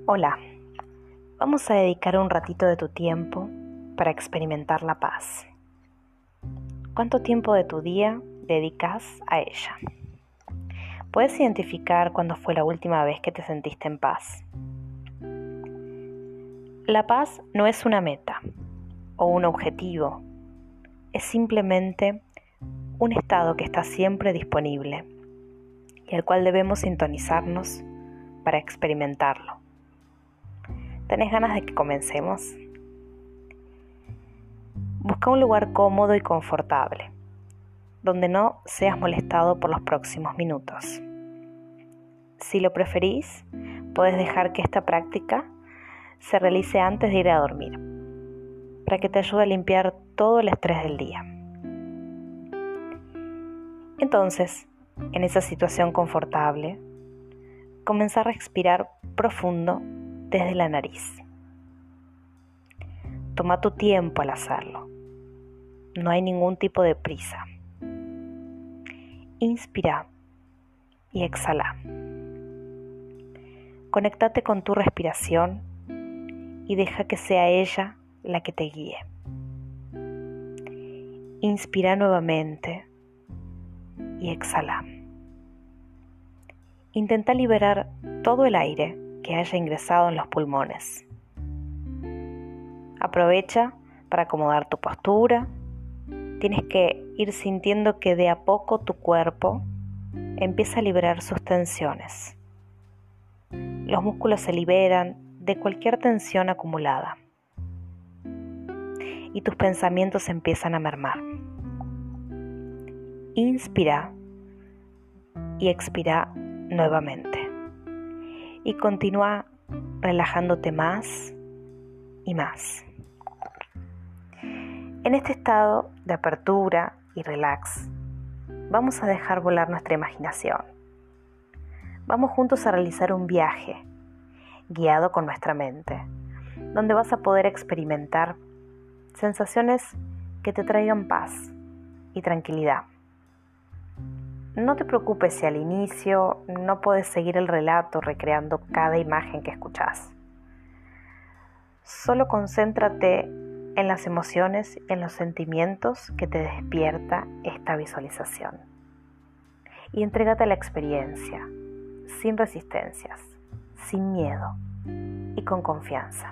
Hola, vamos a dedicar un ratito de tu tiempo para experimentar la paz. ¿Cuánto tiempo de tu día dedicas a ella? ¿Puedes identificar cuándo fue la última vez que te sentiste en paz? La paz no es una meta o un objetivo, es simplemente un estado que está siempre disponible y al cual debemos sintonizarnos para experimentarlo. ¿Tenés ganas de que comencemos? Busca un lugar cómodo y confortable, donde no seas molestado por los próximos minutos. Si lo preferís, puedes dejar que esta práctica se realice antes de ir a dormir, para que te ayude a limpiar todo el estrés del día. Entonces, en esa situación confortable, comenzá a respirar profundo desde la nariz. Toma tu tiempo al hacerlo. No hay ningún tipo de prisa. Inspira y exhala. Conéctate con tu respiración y deja que sea ella la que te guíe. Inspira nuevamente y exhala. Intenta liberar todo el aire que haya ingresado en los pulmones. Aprovecha para acomodar tu postura. Tienes que ir sintiendo que de a poco tu cuerpo empieza a liberar sus tensiones. Los músculos se liberan de cualquier tensión acumulada y tus pensamientos empiezan a mermar. Inspira y expira nuevamente y continúa relajándote más y más. En este estado de apertura y relax, vamos a dejar volar nuestra imaginación. Vamos juntos a realizar un viaje guiado con nuestra mente, donde vas a poder experimentar sensaciones que te traigan paz y tranquilidad. No te preocupes si al inicio no puedes seguir el relato recreando cada imagen que escuchás. Solo concéntrate en las emociones y en los sentimientos que te despierta esta visualización. Y entrégate a la experiencia, sin resistencias, sin miedo y con confianza.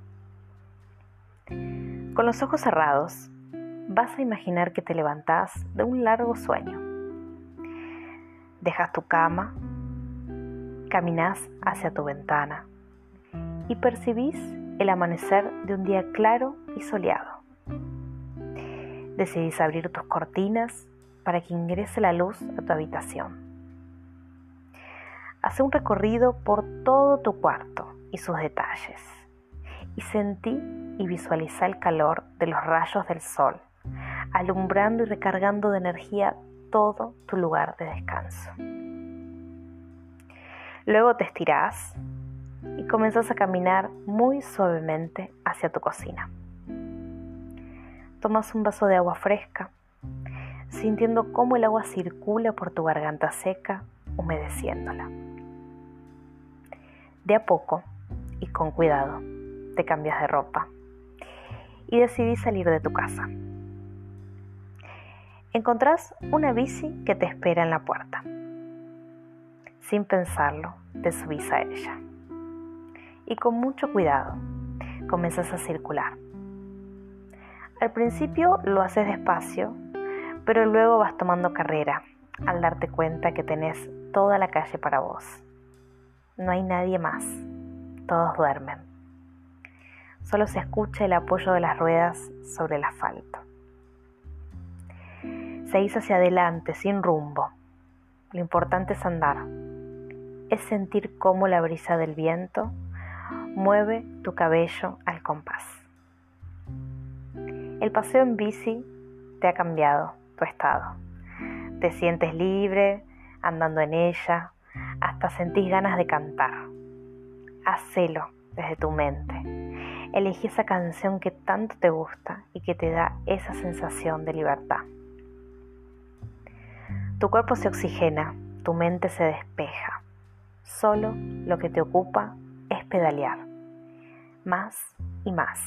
Con los ojos cerrados, vas a imaginar que te levantás de un largo sueño. Dejas tu cama, caminás hacia tu ventana y percibís el amanecer de un día claro y soleado. Decidís abrir tus cortinas para que ingrese la luz a tu habitación. Haz un recorrido por todo tu cuarto y sus detalles y sentí y visualiza el calor de los rayos del sol, alumbrando y recargando de energía todo tu lugar de descanso. Luego te estirás y comenzás a caminar muy suavemente hacia tu cocina. Tomas un vaso de agua fresca, sintiendo cómo el agua circula por tu garganta seca, humedeciéndola. De a poco y con cuidado, te cambias de ropa y decidís salir de tu casa. Encontrás una bici que te espera en la puerta. Sin pensarlo, te subís a ella. Y con mucho cuidado, comenzás a circular. Al principio lo haces despacio, pero luego vas tomando carrera al darte cuenta que tenés toda la calle para vos. No hay nadie más, todos duermen. Solo se escucha el apoyo de las ruedas sobre el asfalto. Seguís hacia adelante sin rumbo. Lo importante es andar, es sentir cómo la brisa del viento mueve tu cabello al compás. El paseo en bici te ha cambiado tu estado. Te sientes libre andando en ella, hasta sentís ganas de cantar. Hacelo desde tu mente. Elegí esa canción que tanto te gusta y que te da esa sensación de libertad. Tu cuerpo se oxigena, tu mente se despeja. Solo lo que te ocupa es pedalear, más y más.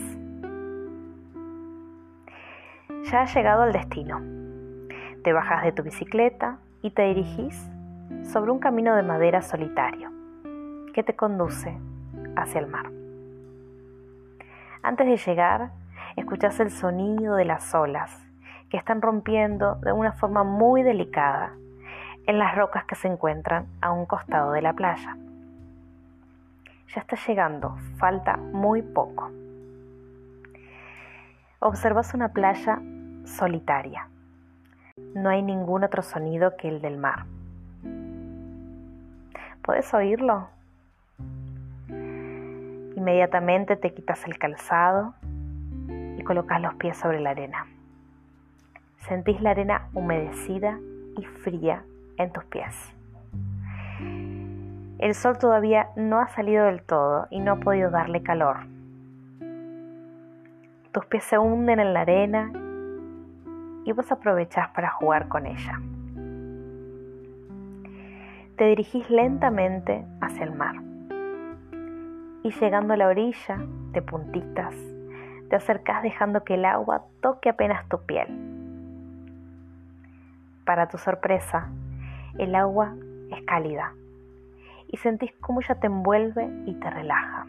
Ya has llegado al destino. Te bajas de tu bicicleta y te dirigís sobre un camino de madera solitario que te conduce hacia el mar. Antes de llegar, escuchas el sonido de las olas que están rompiendo de una forma muy delicada en las rocas que se encuentran a un costado de la playa. Ya estás llegando, falta muy poco. Observas una playa solitaria. No hay ningún otro sonido que el del mar. ¿Puedes oírlo? Inmediatamente te quitas el calzado y colocas los pies sobre la arena. Sentís la arena humedecida y fría en tus pies. El sol todavía no ha salido del todo y no ha podido darle calor. Tus pies se hunden en la arena y vos aprovechás para jugar con ella. Te dirigís lentamente hacia el mar y llegando a la orilla, de puntitas, te acercás dejando que el agua toque apenas tu piel. Para tu sorpresa, el agua es cálida y sentís cómo ella te envuelve y te relaja.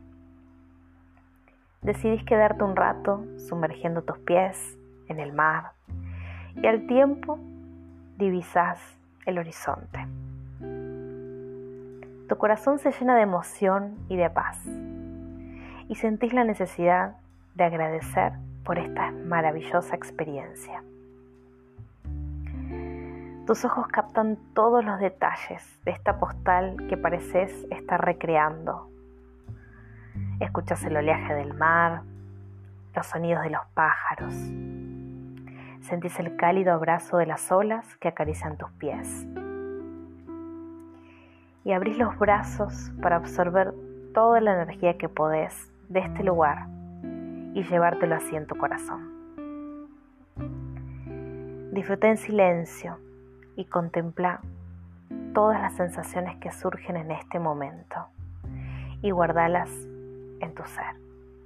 Decidís quedarte un rato sumergiendo tus pies en el mar y al tiempo divisás el horizonte. Tu corazón se llena de emoción y de paz y sentís la necesidad de agradecer por esta maravillosa experiencia. Tus ojos captan todos los detalles de esta postal que pareces estar recreando. Escuchas el oleaje del mar, los sonidos de los pájaros. Sentís el cálido abrazo de las olas que acarician tus pies. Y abrís los brazos para absorber toda la energía que podés de este lugar y llevártelo así en tu corazón. Disfruta en silencio y contempla todas las sensaciones que surgen en este momento y guardalas en tu ser.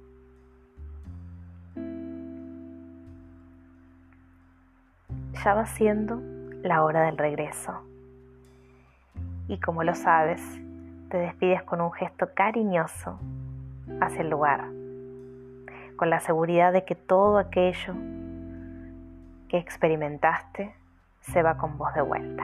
Ya va siendo la hora del regreso y como lo sabes, te despides con un gesto cariñoso hacia el lugar, con la seguridad de que todo aquello que experimentaste se va con vos de vuelta.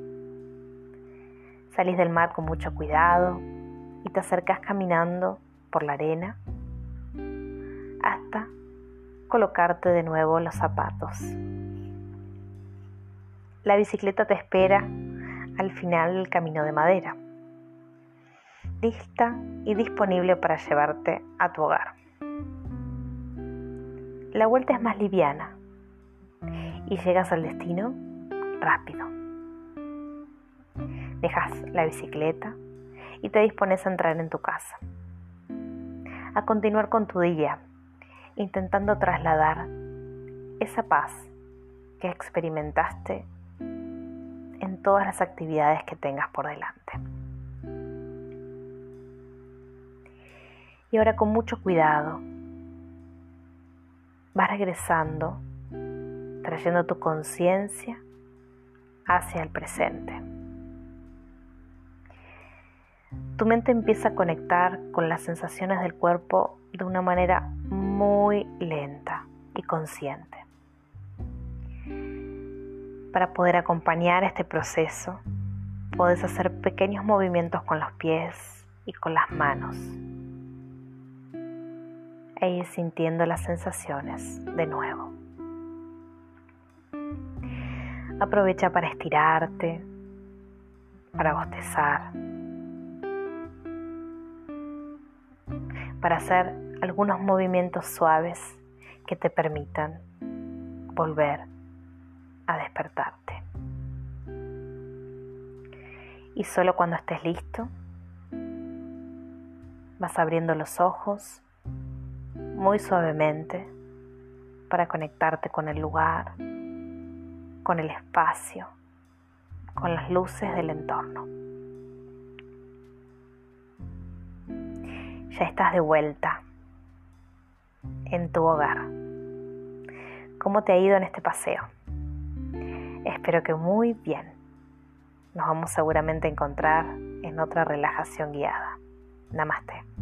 Salís del mar con mucho cuidado y te acercás caminando por la arena hasta colocarte de nuevo los zapatos. La bicicleta te espera al final del camino de madera, lista y disponible para llevarte a tu hogar. La vuelta es más liviana y llegas al destino rápido. Dejas la bicicleta y te dispones a entrar en tu casa, a continuar con tu día, intentando trasladar esa paz que experimentaste en todas las actividades que tengas por delante. Y ahora con mucho cuidado vas regresando, trayendo tu conciencia hacia el presente. Tu mente empieza a conectar con las sensaciones del cuerpo de una manera muy lenta y consciente. Para poder acompañar este proceso, puedes hacer pequeños movimientos con los pies y con las manos e ir sintiendo las sensaciones de nuevo. Aprovecha para estirarte, para bostezar, para hacer algunos movimientos suaves que te permitan volver a despertarte. Y solo cuando estés listo, vas abriendo los ojos muy suavemente para conectarte con el lugar, con el espacio, con las luces del entorno. Ya estás de vuelta en tu hogar. ¿Cómo te ha ido en este paseo? Espero que muy bien. Nos vamos seguramente a encontrar en otra relajación guiada. Namaste.